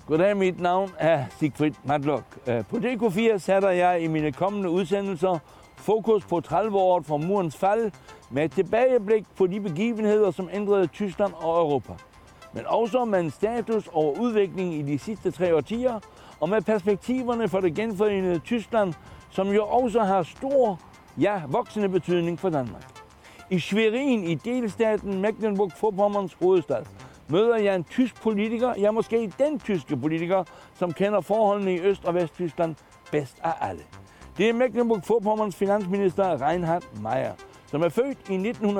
Goddag, mit navn er Sigfrid Matlock. På DK4 sætter jeg i mine kommende udsendelser fokus på 30-året fra murens fald med et tilbageblik på de begivenheder, som ændrede Tyskland og Europa. Men også med en status over udviklingen i de sidste 3 årtier og med perspektiverne for det genforenede Tyskland, som jo også har stor, ja, voksende betydning for Danmark. I Schwerin i delstaten Mecklenburg-Vorpommerns hovedstad møder jeg en tysk politiker, ja måske den tyske politiker, som kender forholdene i Øst- og Vesttyskland bedst af alle. Det er Mecklenburg-Vorpommerns finansminister Reinhard Maier, som er født i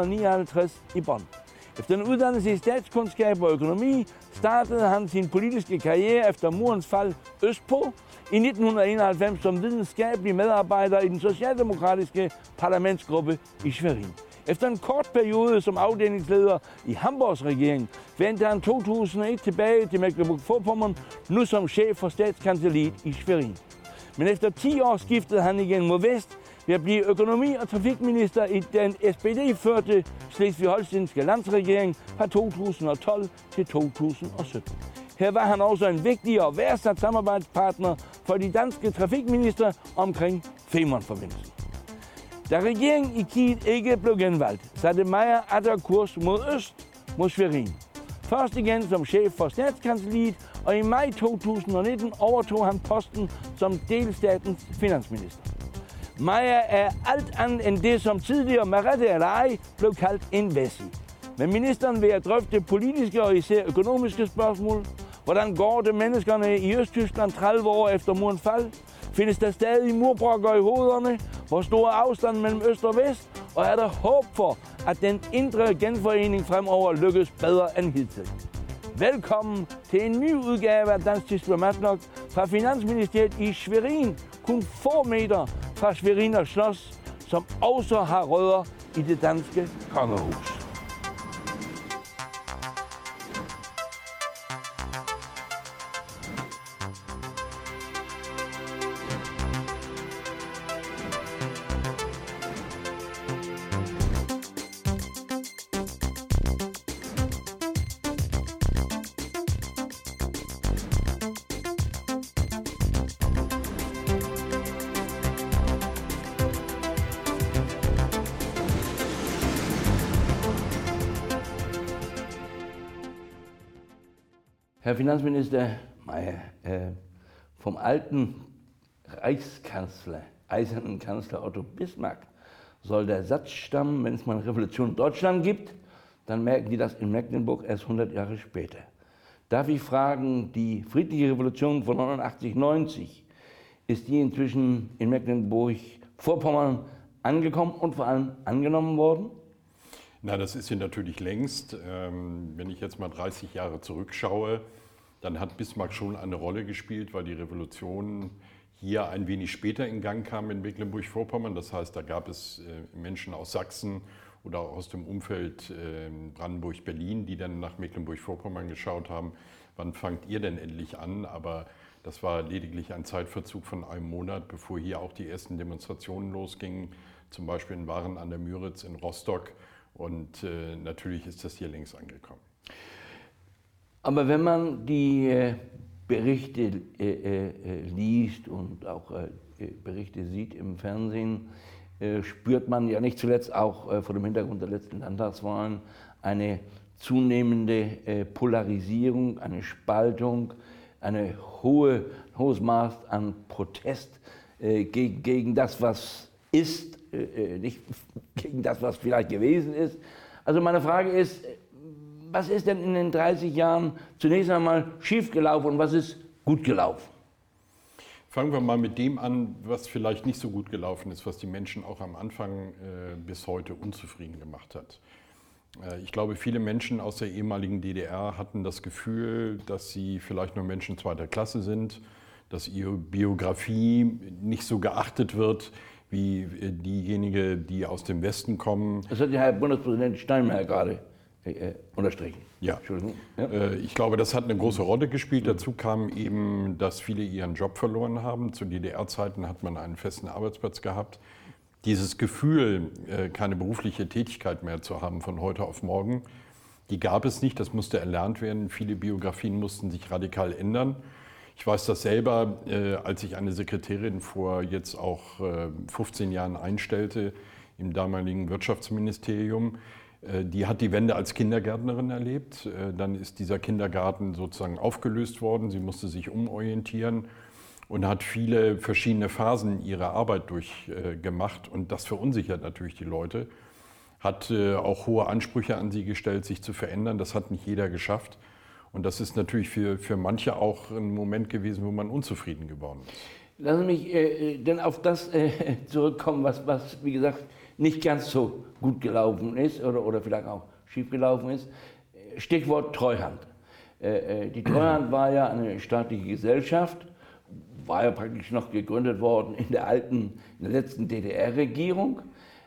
1959 i Bonn. Efter en uddannelse i statskundskab og økonomi startede han sin politiske karriere efter murens fald østpå i 1991 som videnskabelig medarbejder i den socialdemokratiske parlamentsgruppe i Schwerin. Efter en kort periode som afdelingsleder i Hamburgs regering vendte han 2001 tilbage til Mecklenburg-Vorpommern, nu som chef for statskancelliet i Schwerin. Men efter 10 år skiftede han igen mod vest ved at blive økonomi- og trafikminister i den SPD-førte Slesvig-Holstenske landsregering fra 2012 til 2017. Her var han også en vigtig og værdsat samarbejdspartner for de danske trafikminister omkring Femernforbindelsen. Da regeringen i Kiel ikke blev genvalgt, satte Maier atter kurs mod øst, mod Schwerin. Først igen som chef for statskancelliet, og i maj 2019 overtog han posten som delstatens finansminister. Maier er alt andet end det, som tidligere med rette eller ej blev kaldt en Wessi. Men ministeren vil at drøfte politiske og især økonomiske spørgsmål. Hvordan går det menneskerne i Østtyskland 30 år efter murens fald? Findes der stadig murbrokker i hovederne? Hvor stor afstand mellem øst og vest? Og er der håb for, at den indre genforening fremover lykkes bedre end hidtil? Velkommen til en ny udgave af Dansk Tysk med Matlock fra Finansministeriet i Schwerin, kun få meter fra Schweriner Schloss, som også har rødder i det danske kongehus. Herr Finanzminister Maier, vom alten Reichskanzler, eisernen Kanzler Otto Bismarck, soll der Satz stammen, wenn es mal eine Revolution in Deutschland gibt, dann merken die das in Mecklenburg erst 100 Jahre später. Darf ich fragen, die friedliche Revolution von 89-90, ist die inzwischen in Mecklenburg-Vorpommern angekommen und vor allem angenommen worden? Na, das ist sie natürlich längst. Wenn ich jetzt mal 30 Jahre zurückschaue, dann hat Bismarck schon eine Rolle gespielt, weil die Revolution hier ein wenig später in Gang kam in Mecklenburg-Vorpommern. Das heißt, da gab es Menschen aus Sachsen oder aus dem Umfeld Brandenburg-Berlin, die dann nach Mecklenburg-Vorpommern geschaut haben, wann fangt ihr denn endlich an? Aber das war lediglich ein Zeitverzug von einem Monat, bevor hier auch die ersten Demonstrationen losgingen, zum Beispiel in Waren an der Müritz in Rostock. Und natürlich ist das hier längst angekommen. Aber wenn man die Berichte liest und auch Berichte sieht im Fernsehen, spürt man ja nicht zuletzt auch vor dem Hintergrund der letzten Landtagswahlen eine zunehmende Polarisierung, eine Spaltung, ein hohes Maß an Protest gegen das, was ist, nicht gegen das, was vielleicht gewesen ist. Also meine Frage ist, was ist denn in den 30 Jahren zunächst einmal schiefgelaufen und was ist gut gelaufen? Fangen wir mal mit dem an, was vielleicht nicht so gut gelaufen ist, was die Menschen auch am Anfang bis heute unzufrieden gemacht hat. Ich glaube, viele Menschen aus der ehemaligen DDR hatten das Gefühl, dass sie vielleicht nur Menschen zweiter Klasse sind, dass ihre Biografie nicht so geachtet wird wie diejenige, die aus dem Westen kommen. Das hat ja Herr Bundespräsident Steinmeier gerade unterstrichen. Ja. Ich glaube, das hat eine große Rolle gespielt. Dazu kam eben, dass viele ihren Job verloren haben. Zu DDR-Zeiten hat man einen festen Arbeitsplatz gehabt. Dieses Gefühl, keine berufliche Tätigkeit mehr zu haben von heute auf morgen, Die gab es nicht, das musste erlernt werden. Viele Biografien mussten sich radikal ändern. Ich weiß das selber, als ich eine Sekretärin vor jetzt auch 15 Jahren einstellte im damaligen Wirtschaftsministerium. Die hat die Wende als Kindergärtnerin erlebt. Dann ist dieser Kindergarten sozusagen aufgelöst worden. Sie musste sich umorientieren und hat viele verschiedene Phasen ihrer Arbeit durchgemacht. Und das verunsichert natürlich die Leute. Hat auch hohe Ansprüche an sie gestellt, sich zu verändern. Das hat nicht jeder geschafft. Und das ist natürlich für manche auch ein Moment gewesen, wo man unzufrieden geworden ist. Lassen Sie mich dann auf das zurückkommen, was, wie gesagt, nicht ganz so gut gelaufen ist oder vielleicht auch schief gelaufen ist. Stichwort Treuhand. Die Treuhand war ja eine staatliche Gesellschaft, war ja praktisch noch gegründet worden in der letzten DDR-Regierung,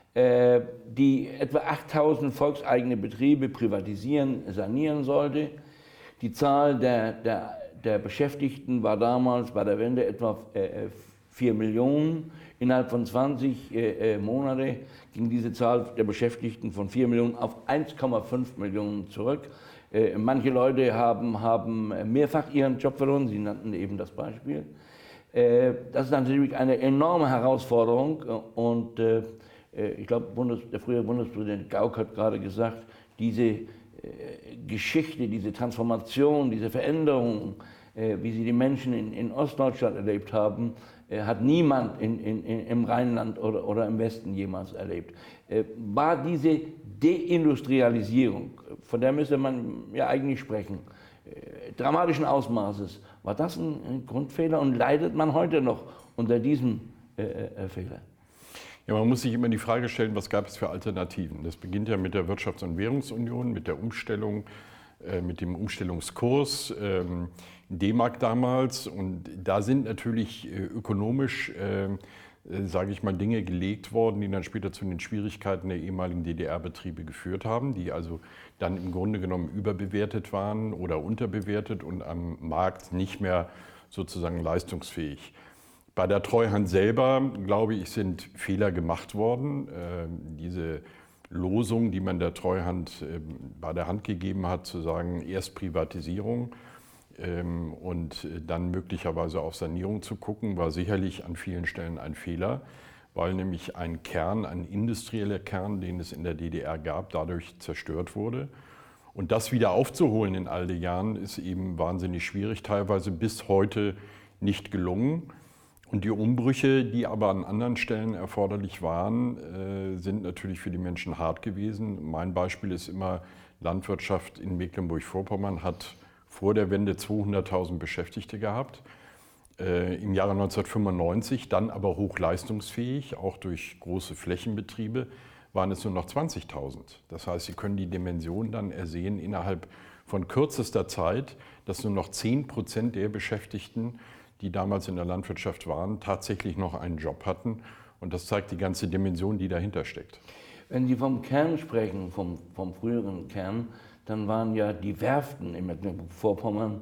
die etwa 8000 volkseigene Betriebe privatisieren, sanieren sollte. Die Zahl der Beschäftigten war damals bei der Wende etwa 4 Millionen. Innerhalb von 20 Monaten ging diese Zahl der Beschäftigten von 4 Millionen auf 1,5 Millionen zurück. Manche Leute haben mehrfach ihren Job verloren, Sie nannten eben das Beispiel. Das ist natürlich eine enorme Herausforderung und ich glaube, der frühere Bundespräsident Gauck hat gerade gesagt, diese Geschichte, diese Transformation, diese Veränderung, wie sie die Menschen in Ostdeutschland erlebt haben, hat niemand im Rheinland oder im Westen jemals erlebt. War diese Deindustrialisierung, von der müsste man ja eigentlich sprechen, dramatischen Ausmaßes, war das ein Grundfehler und leidet man heute noch unter diesem Fehler? Ja, man muss sich immer die Frage stellen, was gab es für Alternativen? Das beginnt ja mit der Wirtschafts- und Währungsunion, mit der Umstellung, mit dem Umstellungskurs, D-Mark damals. Und da sind natürlich ökonomisch, sage ich mal, Dinge gelegt worden, die dann später zu den Schwierigkeiten der ehemaligen DDR-Betriebe geführt haben, die also dann im Grunde genommen überbewertet waren oder unterbewertet und am Markt nicht mehr sozusagen leistungsfähig. Bei der Treuhand selber, glaube ich, sind Fehler gemacht worden. Diese Losung, die man der Treuhand bei der Hand gegeben hat, zu sagen, erst Privatisierung und dann möglicherweise auf Sanierung zu gucken, war sicherlich an vielen Stellen ein Fehler, weil nämlich ein industrieller Kern, den es in der DDR gab, dadurch zerstört wurde. Und das wieder aufzuholen in all den Jahren ist eben wahnsinnig schwierig, teilweise bis heute nicht gelungen. Und die Umbrüche, die aber an anderen Stellen erforderlich waren, sind natürlich für die Menschen hart gewesen. Mein Beispiel ist immer, Landwirtschaft in Mecklenburg-Vorpommern hat vor der Wende 200.000 Beschäftigte gehabt. Im Jahre 1995, dann aber hochleistungsfähig, auch durch große Flächenbetriebe, waren es nur noch 20.000. Das heißt, Sie können die Dimension dann ersehen innerhalb von kürzester Zeit, dass nur noch 10% der Beschäftigten, die damals in der Landwirtschaft waren, tatsächlich noch einen Job hatten. Und das zeigt die ganze Dimension, die dahinter steckt. Wenn Sie vom Kern sprechen, vom früheren Kern, dann waren ja die Werften in Mecklenburg-Vorpommern,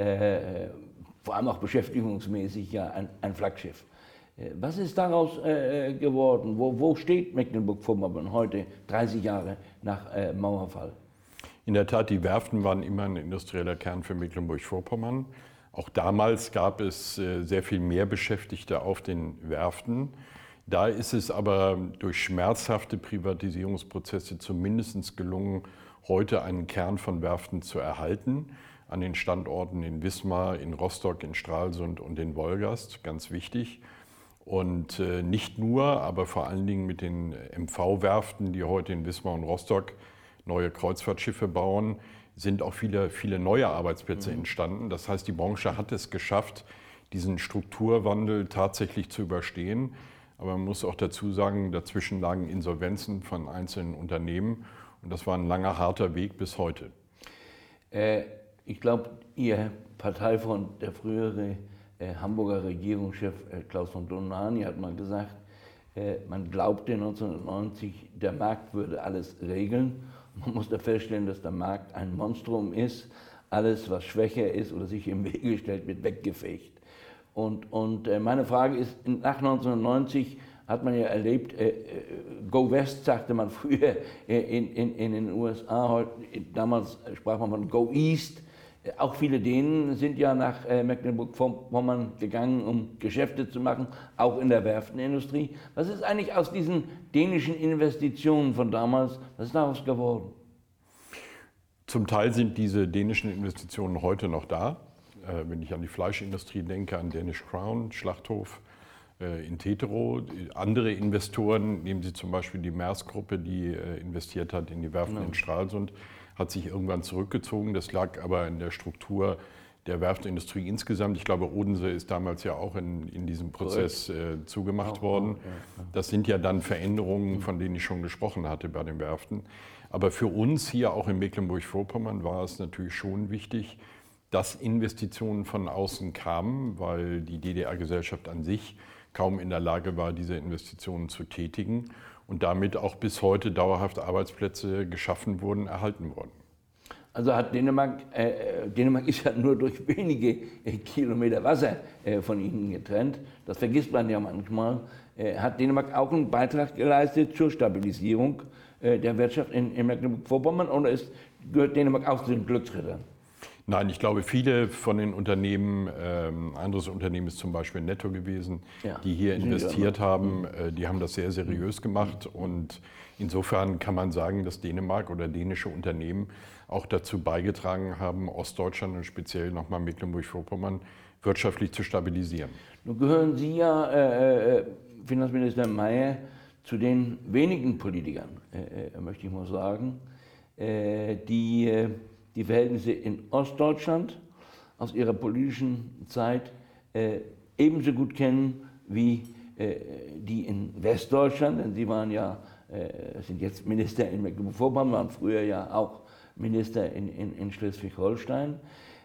vor allem auch beschäftigungsmäßig, ja ein Flaggschiff. Was ist daraus geworden? Wo steht Mecklenburg-Vorpommern heute, 30 Jahre nach Mauerfall? In der Tat, die Werften waren immer ein industrieller Kern für Mecklenburg-Vorpommern. Auch damals gab es sehr viel mehr Beschäftigte auf den Werften. Da ist es aber durch schmerzhafte Privatisierungsprozesse zumindest gelungen, heute einen Kern von Werften zu erhalten. An den Standorten in Wismar, in Rostock, in Stralsund und in Wolgast, ganz wichtig. Und nicht nur, aber vor allen Dingen mit den MV-Werften, die heute in Wismar und Rostock neue Kreuzfahrtschiffe bauen, sind auch viele neue Arbeitsplätze entstanden. Das heißt, die Branche hat es geschafft, diesen Strukturwandel tatsächlich zu überstehen. Aber man muss auch dazu sagen, dazwischen lagen Insolvenzen von einzelnen Unternehmen. Und das war ein langer, harter Weg bis heute. Ich glaube, Ihr Parteifreund, der frühere Hamburger Regierungschef Klaus von Dohnanyi, hat mal gesagt, man glaubte 1990, der Markt würde alles regeln. Man muss da feststellen, dass der Markt ein Monstrum ist. Alles, was schwächer ist oder sich im Wege stellt, wird weggefegt. Und meine Frage ist, nach 1990 hat man ja erlebt, Go West sagte man früher in den USA, damals sprach man von Go East. Auch viele Dänen sind ja nach Mecklenburg-Vorpommern gegangen, um Geschäfte zu machen, auch in der Werftenindustrie. Was ist eigentlich aus diesen dänischen Investitionen von damals, was ist daraus geworden? Zum Teil sind diese dänischen Investitionen heute noch da. Wenn ich an die Fleischindustrie denke, an Danish Crown, Schlachthof in Tetero. Andere Investoren, nehmen Sie zum Beispiel die Maersk-Gruppe, die investiert hat in die Werften in Stralsund, hat sich irgendwann zurückgezogen. Das lag aber in der Struktur der Werftindustrie insgesamt. Ich glaube, Odense ist damals ja auch in diesem Prozess zugemacht worden. Das sind ja dann Veränderungen, von denen ich schon gesprochen hatte bei den Werften. Aber für uns hier auch in Mecklenburg-Vorpommern war es natürlich schon wichtig, dass Investitionen von außen kamen, weil die DDR-Gesellschaft an sich kaum in der Lage war, diese Investitionen zu tätigen und damit auch bis heute dauerhaft Arbeitsplätze geschaffen wurden, erhalten wurden. Also hat Dänemark ist ja nur durch wenige Kilometer Wasser von Ihnen getrennt, das vergisst man ja manchmal. Hat Dänemark auch einen Beitrag geleistet zur Stabilisierung der Wirtschaft in Mecklenburg-Vorpommern oder gehört Dänemark auch zu den Glücksrittern? Nein, ich glaube, viele von den Unternehmen, anderes Unternehmen ist zum Beispiel Netto gewesen, die hier investiert haben, die haben das sehr seriös gemacht und insofern kann man sagen, dass Dänemark oder dänische Unternehmen auch dazu beigetragen haben, Ostdeutschland und speziell nochmal Mecklenburg-Vorpommern wirtschaftlich zu stabilisieren. Nun gehören Sie ja, Finanzminister Mayer, zu den wenigen Politikern, möchte ich mal sagen, die die Verhältnisse in Ostdeutschland aus ihrer politischen Zeit ebenso gut kennen wie die in Westdeutschland, denn Sie waren ja, sind jetzt Minister in Mecklenburg-Vorpommern, waren früher ja auch Minister in Schleswig-Holstein.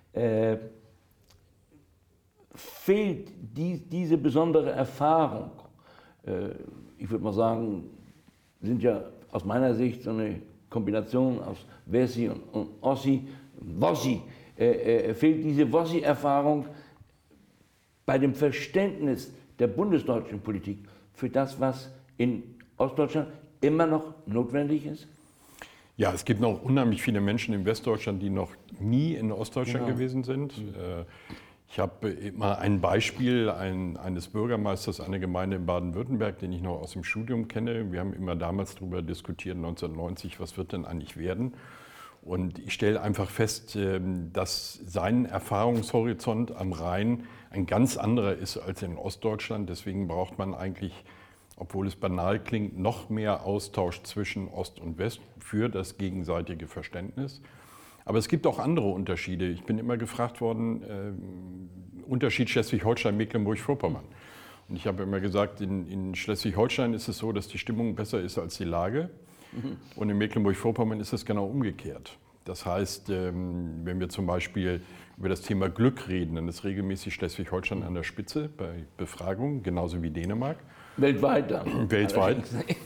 Fehlt diese besondere Erfahrung, ich würde mal sagen, sind ja aus meiner Sicht so eine Kombination aus Wessi und Ossi, Wossi, fehlt diese Wossi-Erfahrung bei dem Verständnis der bundesdeutschen Politik für das, was in Ostdeutschland immer noch notwendig ist? Ja, es gibt noch unheimlich viele Menschen in Westdeutschland, die noch nie in Ostdeutschland gewesen sind. Ich habe immer ein Beispiel eines Bürgermeisters einer Gemeinde in Baden-Württemberg, den ich noch aus dem Studium kenne. Wir haben immer damals darüber diskutiert, 1990, was wird denn eigentlich werden? Und ich stelle einfach fest, dass sein Erfahrungshorizont am Rhein ein ganz anderer ist als in Ostdeutschland. Deswegen braucht man eigentlich, obwohl es banal klingt, noch mehr Austausch zwischen Ost und West für das gegenseitige Verständnis. Aber es gibt auch andere Unterschiede. Ich bin immer gefragt worden, Unterschied Schleswig-Holstein, Mecklenburg-Vorpommern. Und ich habe immer gesagt, in Schleswig-Holstein ist es so, dass die Stimmung besser ist als die Lage. Und in Mecklenburg-Vorpommern ist es genau umgekehrt. Das heißt, wenn wir zum Beispiel über das Thema Glück reden, dann ist regelmäßig Schleswig-Holstein an der Spitze bei Befragungen, genauso wie Dänemark. Weltweit dann. Weltweit.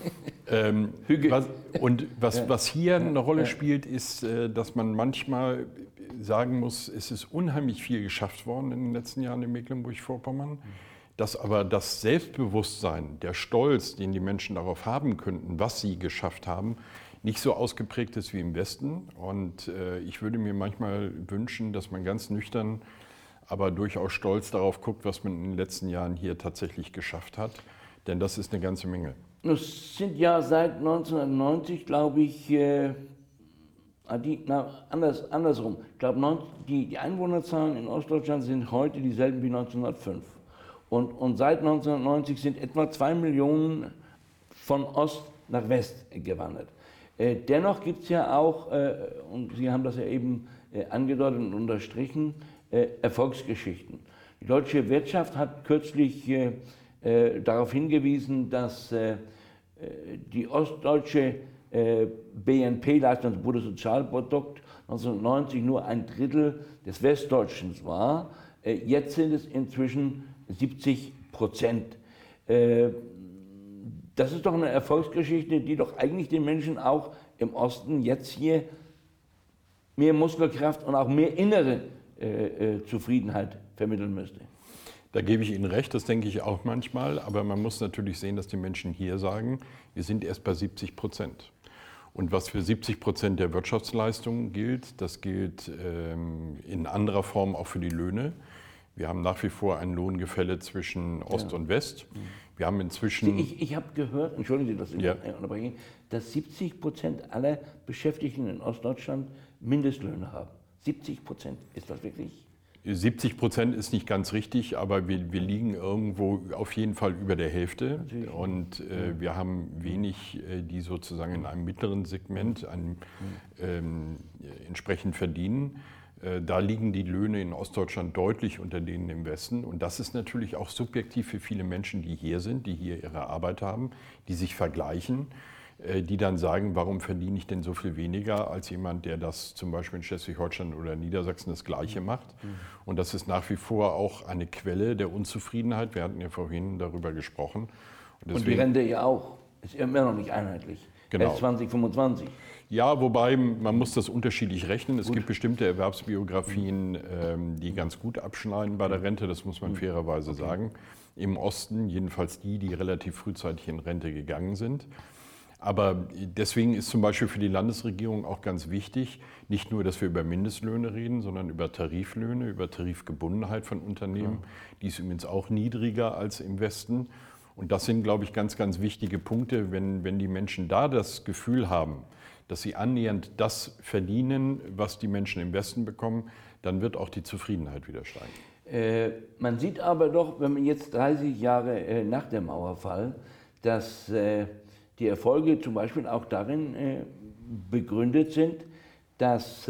Was hier eine Rolle spielt, ist, dass man manchmal sagen muss, es ist unheimlich viel geschafft worden in den letzten Jahren in Mecklenburg-Vorpommern, dass aber das Selbstbewusstsein, der Stolz, den die Menschen darauf haben könnten, was sie geschafft haben, nicht so ausgeprägt ist wie im Westen. Und ich würde mir manchmal wünschen, dass man ganz nüchtern, aber durchaus stolz darauf guckt, was man in den letzten Jahren hier tatsächlich geschafft hat. Denn das ist eine ganze Menge. Es sind ja seit 1990, glaube ich, andersrum. Ich glaube, die Einwohnerzahlen in Ostdeutschland sind heute dieselben wie 1905. Und seit 1990 sind etwa 2 Millionen von Ost nach West gewandert. Dennoch gibt es ja auch, und Sie haben das ja eben angedeutet und unterstrichen, Erfolgsgeschichten. Die deutsche Wirtschaft hat kürzlich darauf hingewiesen, dass die ostdeutsche BNP-Leistung, das Bruttosozialprodukt, 1990 nur 1/3 des Westdeutschen war. Jetzt sind es inzwischen 70%. Das ist doch eine Erfolgsgeschichte, die doch eigentlich den Menschen auch im Osten jetzt hier mehr Muskelkraft und auch mehr innere Zufriedenheit vermitteln müsste. Da gebe ich Ihnen recht, das denke ich auch manchmal. Aber man muss natürlich sehen, dass die Menschen hier sagen, wir sind erst bei 70%. Und was für 70% der Wirtschaftsleistung gilt, das gilt in anderer Form auch für die Löhne. Wir haben nach wie vor ein Lohngefälle zwischen Ost und West. Wir haben inzwischen... Ich habe gehört, entschuldigen Sie, dass ich unterbreche, dass 70% aller Beschäftigten in Ostdeutschland Mindestlöhne haben. 70%, ist das wirklich? 70% ist nicht ganz richtig, aber wir liegen irgendwo auf jeden Fall über der Hälfte. Natürlich. Und wir haben wenig, die sozusagen in einem mittleren Segment entsprechend verdienen. Da liegen die Löhne in Ostdeutschland deutlich unter denen im Westen. Und das ist natürlich auch subjektiv für viele Menschen, die hier sind, die hier ihre Arbeit haben, die sich vergleichen, die dann sagen, warum verdiene ich denn so viel weniger als jemand, der das zum Beispiel in Schleswig-Holstein oder Niedersachsen das Gleiche macht. Und das ist nach wie vor auch eine Quelle der Unzufriedenheit. Wir hatten ja vorhin darüber gesprochen. Und die Rente ja auch. Ist immer noch nicht einheitlich. Genau. Erst 2025. Ja, wobei man muss das unterschiedlich rechnen. Es gibt bestimmte Erwerbsbiografien, die ganz gut abschneiden bei der Rente, das muss man fairerweise sagen. Im Osten, jedenfalls die relativ frühzeitig in Rente gegangen sind. Aber deswegen ist zum Beispiel für die Landesregierung auch ganz wichtig, nicht nur, dass wir über Mindestlöhne reden, sondern über Tariflöhne, über Tarifgebundenheit von Unternehmen. Die ist übrigens auch niedriger als im Westen. Und das sind, glaube ich, ganz, ganz wichtige Punkte, wenn die Menschen da das Gefühl haben, dass sie annähernd das verdienen, was die Menschen im Westen bekommen, dann wird auch die Zufriedenheit wieder steigen. Man sieht aber doch, wenn man jetzt 30 Jahre nach dem Mauerfall, dass die Erfolge zum Beispiel auch darin begründet sind, dass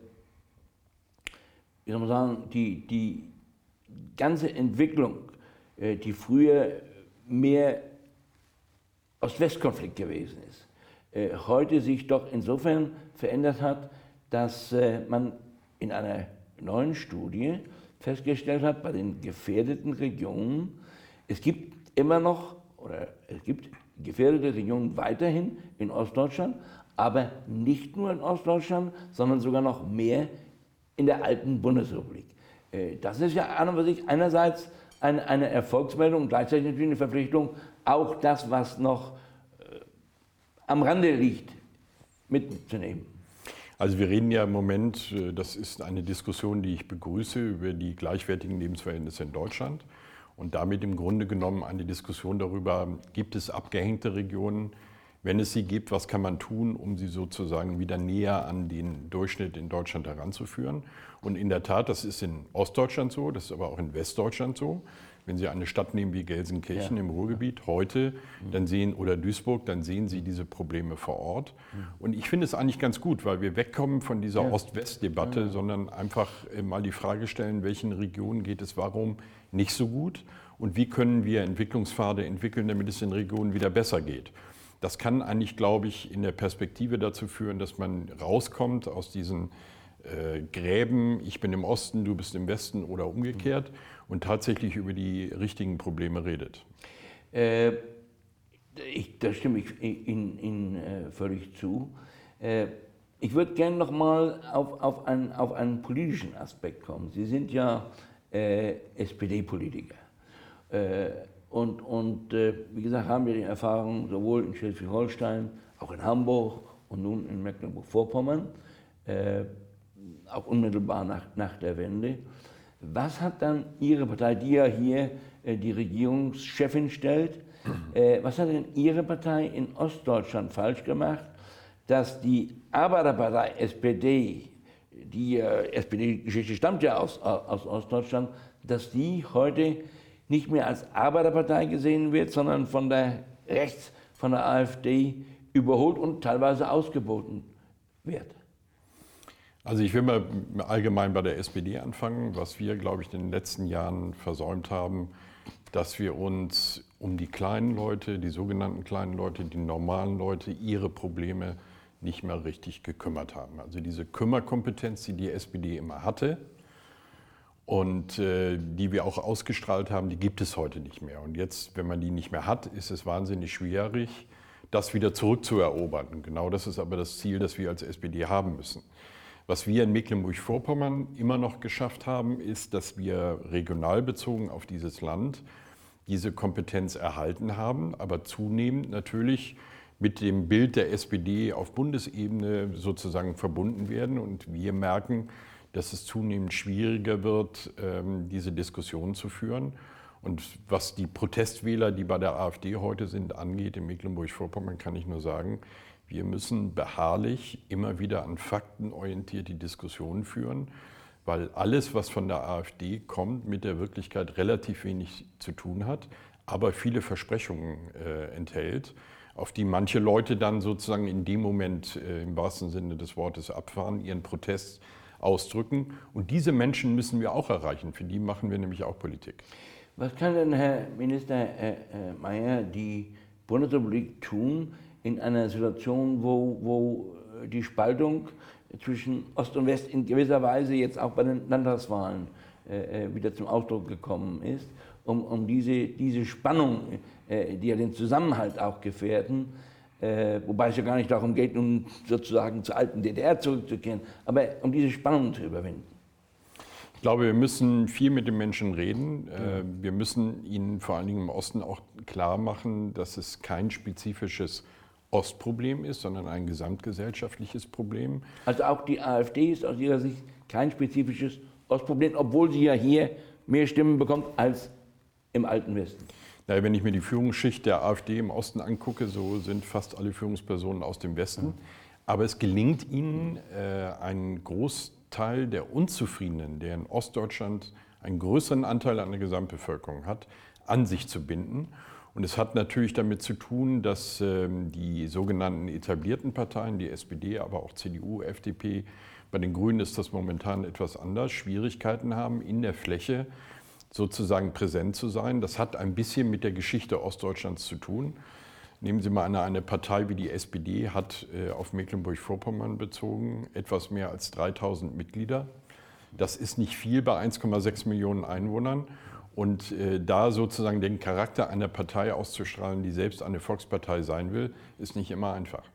wie soll man sagen, die ganze Entwicklung, die früher mehr Ost-West-Konflikt gewesen ist, heute sich doch insofern verändert hat, dass man in einer neuen Studie festgestellt hat, bei den gefährdeten Regionen, es gibt immer noch, oder es gibt gefährdete Regionen weiterhin in Ostdeutschland, aber nicht nur in Ostdeutschland, sondern sogar noch mehr in der alten Bundesrepublik. Das ist ja an und für sich einerseits eine Erfolgsmeldung und gleichzeitig natürlich eine Verpflichtung, auch das, was noch am Rande liegt, mitzunehmen. Also wir reden ja im Moment, das ist eine Diskussion, die ich begrüße, über die gleichwertigen Lebensverhältnisse in Deutschland und damit im Grunde genommen eine Diskussion darüber, gibt es abgehängte Regionen? Wenn es sie gibt, was kann man tun, um sie sozusagen wieder näher an den Durchschnitt in Deutschland heranzuführen? Und in der Tat, das ist in Ostdeutschland so, das ist aber auch in Westdeutschland so. Wenn Sie eine Stadt nehmen wie Gelsenkirchen im Ruhrgebiet heute, dann oder Duisburg, dann sehen Sie diese Probleme vor Ort. Und ich finde es eigentlich ganz gut, weil wir wegkommen von dieser Ost-West-Debatte, sondern einfach mal die Frage stellen, welchen Regionen geht es warum nicht so gut und wie können wir Entwicklungspfade entwickeln, damit es den Regionen wieder besser geht. Das kann eigentlich, glaube ich, in der Perspektive dazu führen, dass man rauskommt aus diesen Gräben, ich bin im Osten, du bist im Westen oder umgekehrt und tatsächlich über die richtigen Probleme redet. Da stimme ich Ihnen völlig zu. Ich würde gerne noch mal auf einen politischen Aspekt kommen. Sie sind ja SPD-Politiker. Und wie gesagt, haben wir die Erfahrung sowohl in Schleswig-Holstein, auch in Hamburg und nun in Mecklenburg-Vorpommern, auch unmittelbar nach der Wende. Was hat dann Ihre Partei, die ja hier die Regierungschefin stellt, was hat denn Ihre Partei in Ostdeutschland falsch gemacht, dass die Arbeiterpartei SPD, die SPD-Geschichte stammt ja aus Ostdeutschland, dass die heute nicht mehr als Arbeiterpartei gesehen wird, sondern von der AfD überholt und teilweise ausgeboten wird? Also ich will mal allgemein bei der SPD anfangen, was wir, glaube ich, in den letzten Jahren versäumt haben, dass wir uns um die kleinen Leute, die sogenannten kleinen Leute, die normalen Leute, ihre Probleme nicht mehr richtig gekümmert haben. Also diese Kümmerkompetenz, die die SPD immer hatte und die wir auch ausgestrahlt haben, die gibt es heute nicht mehr. Und jetzt, wenn man die nicht mehr hat, ist es wahnsinnig schwierig, das wieder zurückzuerobern. Und genau das ist aber das Ziel, das wir als SPD haben müssen. Was wir in Mecklenburg-Vorpommern immer noch geschafft haben, ist, dass wir regional bezogen auf dieses Land diese Kompetenz erhalten haben, aber zunehmend natürlich mit dem Bild der SPD auf Bundesebene sozusagen verbunden werden. Und wir merken, dass es zunehmend schwieriger wird, diese Diskussion zu führen. Und was die Protestwähler, die bei der AfD heute sind, angeht, in Mecklenburg-Vorpommern, kann ich nur sagen, wir müssen beharrlich immer wieder an Fakten orientiert die Diskussion führen, weil alles, was von der AfD kommt, mit der Wirklichkeit relativ wenig zu tun hat, aber viele Versprechungen enthält, auf die manche Leute dann sozusagen in dem Moment im wahrsten Sinne des Wortes abfahren, ihren Protest ausdrücken. Und diese Menschen müssen wir auch erreichen, für die machen wir nämlich auch Politik. Was kann denn, Herr Minister Mayer, die Bundesrepublik tun in einer Situation, wo die Spaltung zwischen Ost und West in gewisser Weise jetzt auch bei den Landtagswahlen wieder zum Ausdruck gekommen ist, um diese Spannung, die ja den Zusammenhalt auch gefährden, wobei es ja gar nicht darum geht, nun sozusagen zur alten DDR zurückzukehren, aber um diese Spannung zu überwinden? Ich glaube, wir müssen viel mit den Menschen reden. Wir müssen ihnen vor allen Dingen im Osten auch klar machen, dass es kein spezifisches Ostproblem ist, sondern ein gesamtgesellschaftliches Problem. Also auch die AfD ist aus Ihrer Sicht kein spezifisches Ostproblem, obwohl sie ja hier mehr Stimmen bekommt als im alten Westen. Naja, wenn ich mir die Führungsschicht der AfD im Osten angucke, so sind fast alle Führungspersonen aus dem Westen. Aber es gelingt ihnen, einen Großteil der Unzufriedenen, der in Ostdeutschland einen größeren Anteil an der Gesamtbevölkerung hat, an sich zu binden. Und es hat natürlich damit zu tun, dass die sogenannten etablierten Parteien, die SPD, aber auch CDU, FDP, bei den Grünen ist das momentan etwas anders, Schwierigkeiten haben, in der Fläche sozusagen präsent zu sein. Das hat ein bisschen mit der Geschichte Ostdeutschlands zu tun. Nehmen Sie mal eine Partei wie die SPD, hat auf Mecklenburg-Vorpommern bezogen etwas mehr als 3000 Mitglieder. Das ist nicht viel bei 1,6 Millionen Einwohnern. Und da sozusagen den Charakter einer Partei auszustrahlen, die selbst eine Volkspartei sein will, ist nicht immer einfach.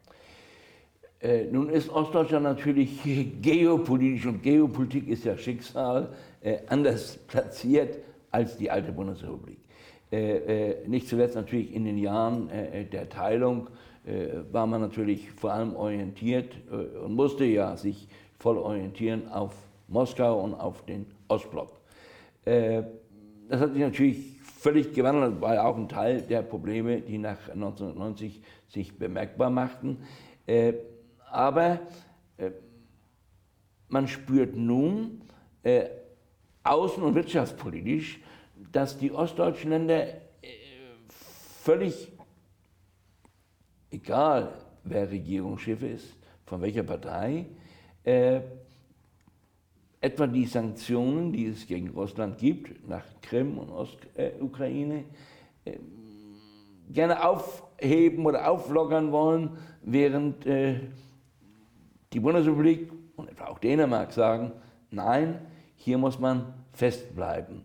Nun ist Ostdeutschland natürlich geopolitisch und Geopolitik ist ja Schicksal anders platziert als die alte Bundesrepublik. Nicht zuletzt natürlich in den Jahren der Teilung war man natürlich vor allem orientiert und musste ja sich voll orientieren auf Moskau und auf den Ostblock. Das hat sich natürlich völlig gewandelt, weil auch ein Teil der Probleme, die nach 1990 sich bemerkbar machten. Aber man spürt nun außen- und wirtschaftspolitisch, dass die ostdeutschen Länder völlig egal, wer Regierungschef ist, von welcher Partei, etwa die Sanktionen, die es gegen Russland gibt, nach Krim und Ostukraine, gerne aufheben oder auflockern wollen, während die Bundesrepublik und etwa auch Dänemark sagen, nein, hier muss man festbleiben.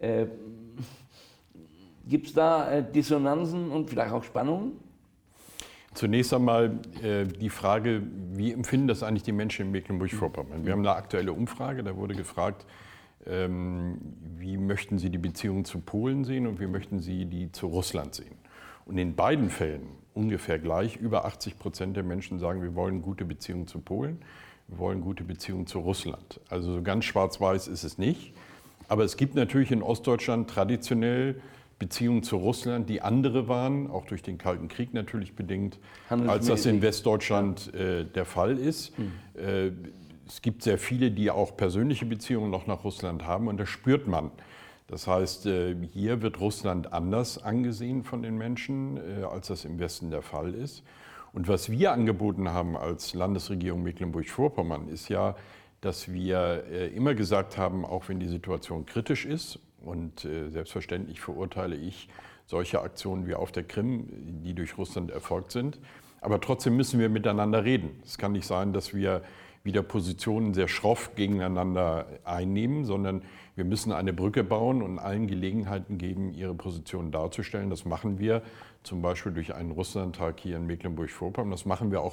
Gibt es da Dissonanzen und vielleicht auch Spannungen? Zunächst einmal die Frage, wie empfinden das eigentlich die Menschen in Mecklenburg-Vorpommern? Wir haben eine aktuelle Umfrage, da wurde gefragt, wie möchten Sie die Beziehungen zu Polen sehen und wie möchten Sie die zu Russland sehen? Und in beiden Fällen ungefähr gleich, über 80% der Menschen sagen, wir wollen gute Beziehungen zu Polen, wir wollen gute Beziehungen zu Russland. Also so ganz schwarz-weiß ist es nicht. Aber es gibt natürlich in Ostdeutschland traditionell Beziehungen zu Russland, die andere waren, auch durch den Kalten Krieg natürlich bedingt, als das in Westdeutschland der Fall ist. Es gibt sehr viele, die auch persönliche Beziehungen noch nach Russland haben und das spürt man. Das heißt, hier wird Russland anders angesehen von den Menschen, als das im Westen der Fall ist. Und was wir angeboten haben als Landesregierung Mecklenburg-Vorpommern ist ja, dass wir immer gesagt haben, auch wenn die Situation kritisch ist, und selbstverständlich verurteile ich solche Aktionen wie auf der Krim, die durch Russland erfolgt sind. Aber trotzdem müssen wir miteinander reden. Es kann nicht sein, dass wir wieder Positionen sehr schroff gegeneinander einnehmen, sondern wir müssen eine Brücke bauen und allen Gelegenheiten geben, ihre Positionen darzustellen. Das machen wir zum Beispiel durch einen Russlandtag hier in Mecklenburg-Vorpommern. Das machen wir auch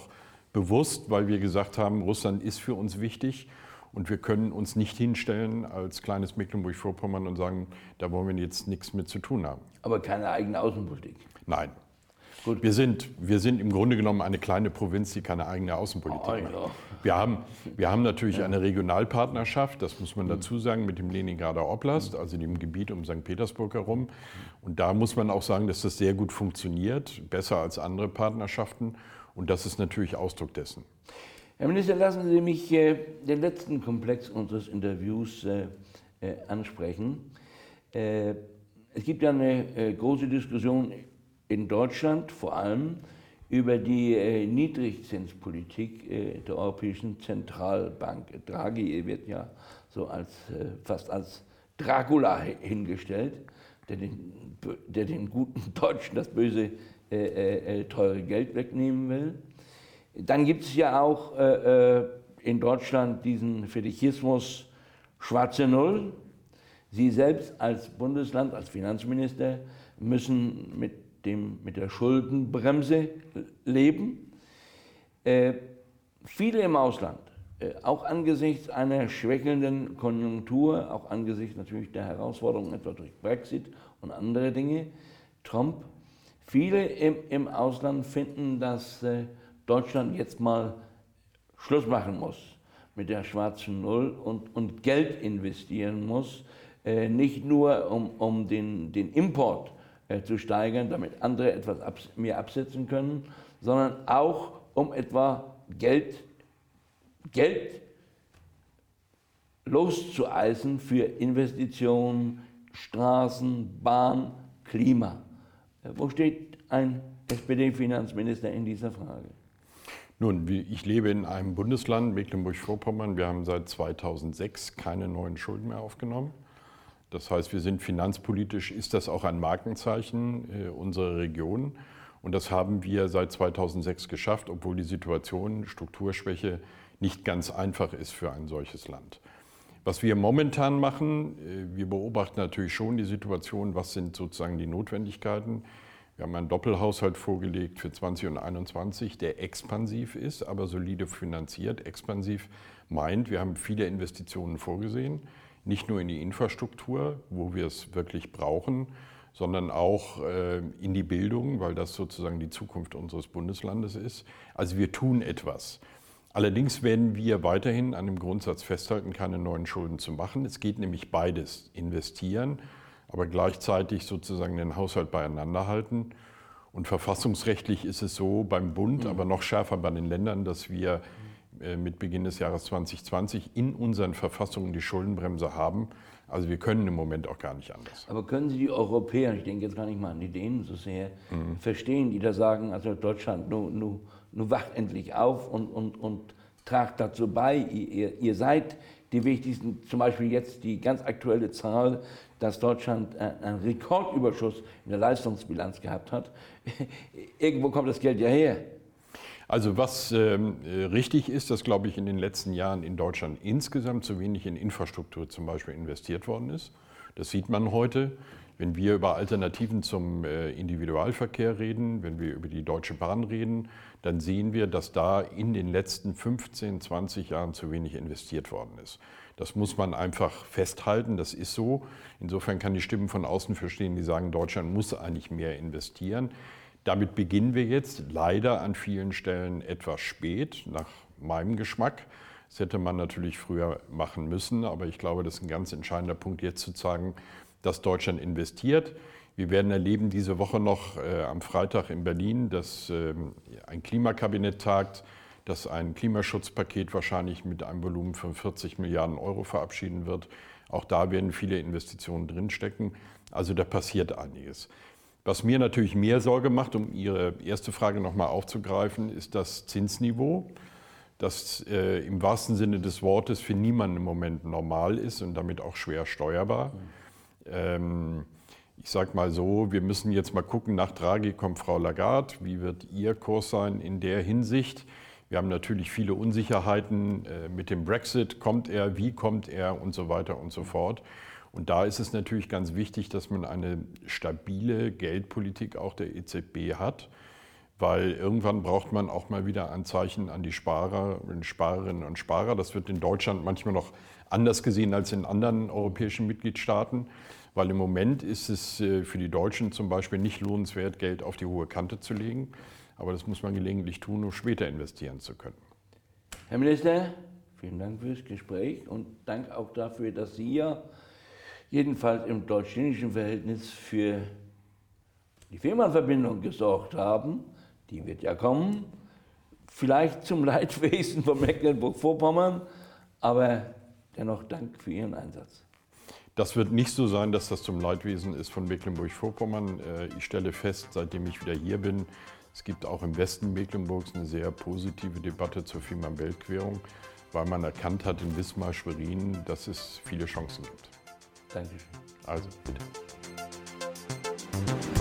bewusst, weil wir gesagt haben, Russland ist für uns wichtig und wir können uns nicht hinstellen als kleines Mecklenburg-Vorpommern und sagen, da wollen wir jetzt nichts mit zu tun haben. Aber keine eigene Außenpolitik. Nein. Gut. Wir sind im Grunde genommen eine kleine Provinz, die keine eigene Außenpolitik macht. Ja. Wir haben natürlich eine Regionalpartnerschaft, das muss man dazu sagen, mit dem Leningrader Oblast, also dem Gebiet um St. Petersburg herum. Und da muss man auch sagen, dass das sehr gut funktioniert, besser als andere Partnerschaften. Und das ist natürlich Ausdruck dessen. Herr Minister, lassen Sie mich den letzten Komplex unseres Interviews ansprechen. Es gibt ja eine große Diskussion in Deutschland vor allem über die Niedrigzinspolitik der Europäischen Zentralbank. Draghi wird ja so fast als Dracula hingestellt, der den guten Deutschen das böse, teure Geld wegnehmen will. Dann gibt es ja auch in Deutschland diesen Fetischismus schwarze Null. Sie selbst als Bundesland, als Finanzminister müssen mit der Schuldenbremse leben. Viele im Ausland, auch angesichts einer schwächelnden Konjunktur, auch angesichts natürlich der Herausforderungen etwa durch Brexit und andere Dinge, Trump, viele im Ausland finden, dass Deutschland jetzt mal Schluss machen muss mit der schwarzen Null und Geld investieren muss, nicht nur um den Import zu steigern, damit andere etwas mehr absetzen können, sondern auch um etwa Geld loszueisen für Investitionen, Straßen, Bahn, Klima. Wo steht ein SPD-Finanzminister in dieser Frage? Nun, ich lebe in einem Bundesland, Mecklenburg-Vorpommern. Wir haben seit 2006 keine neuen Schulden mehr aufgenommen. Das heißt, wir sind finanzpolitisch, ist das auch ein Markenzeichen unserer Region. Und das haben wir seit 2006 geschafft, obwohl die Situation, Strukturschwäche, nicht ganz einfach ist für ein solches Land. Was wir momentan machen, wir beobachten natürlich schon die Situation, was sind sozusagen die Notwendigkeiten. Wir haben einen Doppelhaushalt vorgelegt für 20 und 21, der expansiv ist, aber solide finanziert. Expansiv meint, wir haben viele Investitionen vorgesehen. Nicht nur in die Infrastruktur, wo wir es wirklich brauchen, sondern auch in die Bildung, weil das sozusagen die Zukunft unseres Bundeslandes ist. Also wir tun etwas. Allerdings werden wir weiterhin an dem Grundsatz festhalten, keine neuen Schulden zu machen. Es geht nämlich beides, investieren, aber gleichzeitig sozusagen den Haushalt beieinander halten. Und verfassungsrechtlich ist es so beim Bund, aber noch schärfer bei den Ländern, dass wir mit Beginn des Jahres 2020 in unseren Verfassungen die Schuldenbremse haben. Also wir können im Moment auch gar nicht anders. Aber können Sie die Europäer, ich denke jetzt gar nicht mal an die Dänen so sehr, verstehen, die da sagen, also Deutschland, nun wacht endlich auf und tragt dazu bei, ihr seid die wichtigsten, zum Beispiel jetzt die ganz aktuelle Zahl, dass Deutschland einen Rekordüberschuss in der Leistungsbilanz gehabt hat. Irgendwo kommt das Geld ja her. Also was richtig ist, dass, glaube ich, in den letzten Jahren in Deutschland insgesamt zu wenig in Infrastruktur zum Beispiel investiert worden ist. Das sieht man heute, wenn wir über Alternativen zum Individualverkehr reden, wenn wir über die Deutsche Bahn reden, dann sehen wir, dass da in den letzten 15, 20 Jahren zu wenig investiert worden ist. Das muss man einfach festhalten, das ist so. Insofern kann die Stimmen von außen verstehen, die sagen, Deutschland muss eigentlich mehr investieren. Damit beginnen wir jetzt leider an vielen Stellen etwas spät, nach meinem Geschmack. Das hätte man natürlich früher machen müssen, aber ich glaube, das ist ein ganz entscheidender Punkt, jetzt zu sagen, dass Deutschland investiert. Wir werden erleben diese Woche noch am Freitag in Berlin, dass ein Klimakabinett tagt, das ein Klimaschutzpaket wahrscheinlich mit einem Volumen von 40 Milliarden Euro verabschieden wird. Auch da werden viele Investitionen drinstecken. Also da passiert einiges. Was mir natürlich mehr Sorge macht, um Ihre erste Frage nochmal aufzugreifen, ist das Zinsniveau, das im wahrsten Sinne des Wortes für niemanden im Moment normal ist und damit auch schwer steuerbar. Ich sage mal so, wir müssen jetzt mal gucken, nach Draghi kommt Frau Lagarde, wie wird ihr Kurs sein in der Hinsicht? Wir haben natürlich viele Unsicherheiten mit dem Brexit, kommt er, wie kommt er und so weiter und so fort. Und da ist es natürlich ganz wichtig, dass man eine stabile Geldpolitik auch der EZB hat. weil irgendwann braucht man auch mal wieder ein Zeichen an die Sparerinnen und Sparer. Das wird in Deutschland manchmal noch anders gesehen als in anderen europäischen Mitgliedstaaten, weil im Moment ist es für die Deutschen zum Beispiel nicht lohnenswert, Geld auf die hohe Kante zu legen. Aber das muss man gelegentlich tun, um später investieren zu können. Herr Minister, vielen Dank fürs Gespräch und Dank auch dafür, dass Sie ja jedenfalls im deutsch-chinesischen Verhältnis für die Fehmarnverbindung gesorgt haben. Die wird ja kommen, vielleicht zum Leidwesen von Mecklenburg-Vorpommern, aber dennoch Dank für Ihren Einsatz. Das wird nicht so sein, dass das zum Leidwesen ist von Mecklenburg-Vorpommern. Ich stelle fest, seitdem ich wieder hier bin, es gibt auch im Westen Mecklenburgs eine sehr positive Debatte zur Fehmarn-Belt-Querung, weil man erkannt hat in Wismar-Schwerin, dass es viele Chancen gibt. Dankeschön. Also bitte.